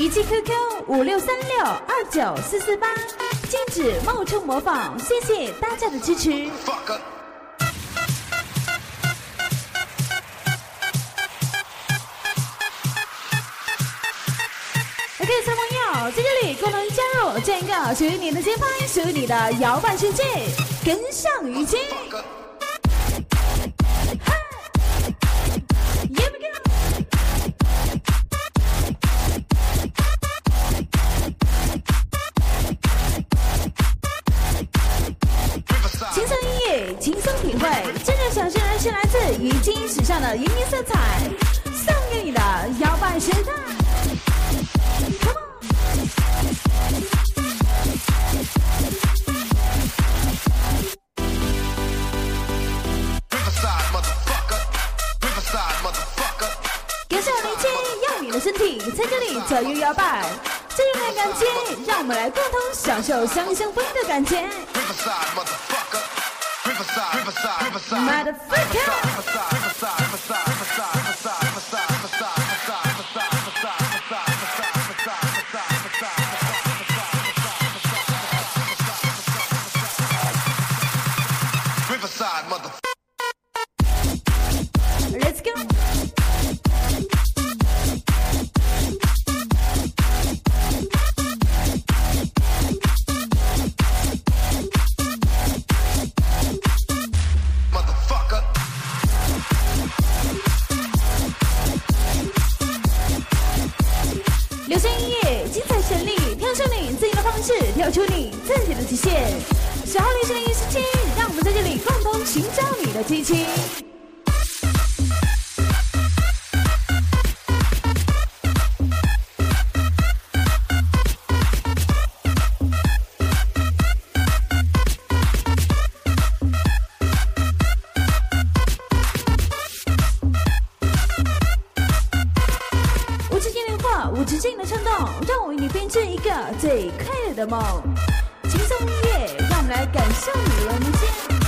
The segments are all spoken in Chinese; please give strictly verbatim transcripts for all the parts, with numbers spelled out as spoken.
语气 Q Q 五六三六二九四四八，禁止冒充模仿，谢谢大家的支持。OK， 小朋友在这里共同加入这个属于你的节拍，属于你的摇摆世界，跟上语气。轻松音乐，轻松体会，这个小声人是来自语境时尚的云音色彩，送给你的摇摆时代。Come on！ 跟上年轻，用你的身体在这里左右摇摆，这种的感觉，让我们来共同享受相相风的感觉。Let's go！ 流行音乐，精彩旋律，跳出你自己的方式，跳出你自己的极限。小号流行的音时间，让我们在这里共同寻找你的激情。无止境的冲动，让我为你编织一个最快乐的梦。轻松音乐，让我们来感受你的人间。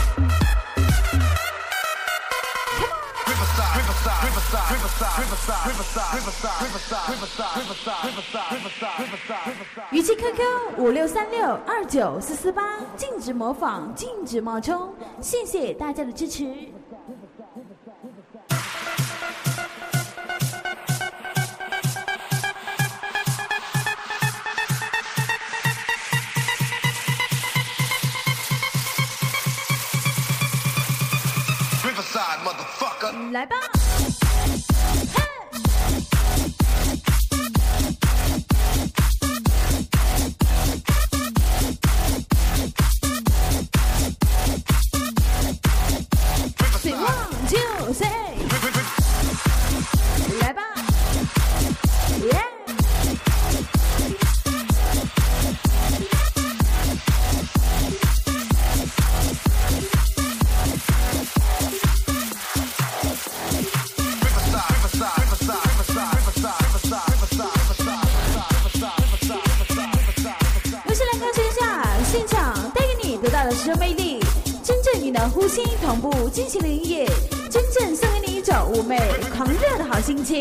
语气 Q Q 五六三六二九四四八，禁止模仿，禁止冒充，谢谢大家的支持。来吧！谁忘就谁，来吧！耶！是魅力，真正你的呼吸同步进行的音乐，真正送给你一种妩媚狂热的好心情。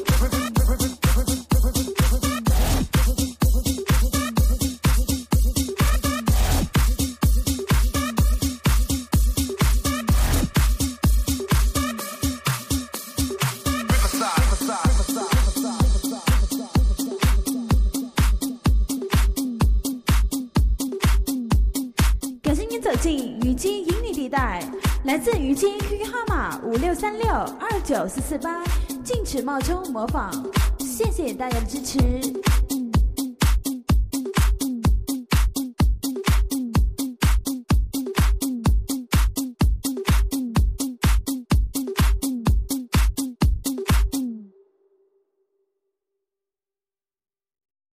走进雨姬引你地带，来自雨姬 Q Q 号码五六三六二九四四八，禁止冒充模仿，谢谢大家的支持。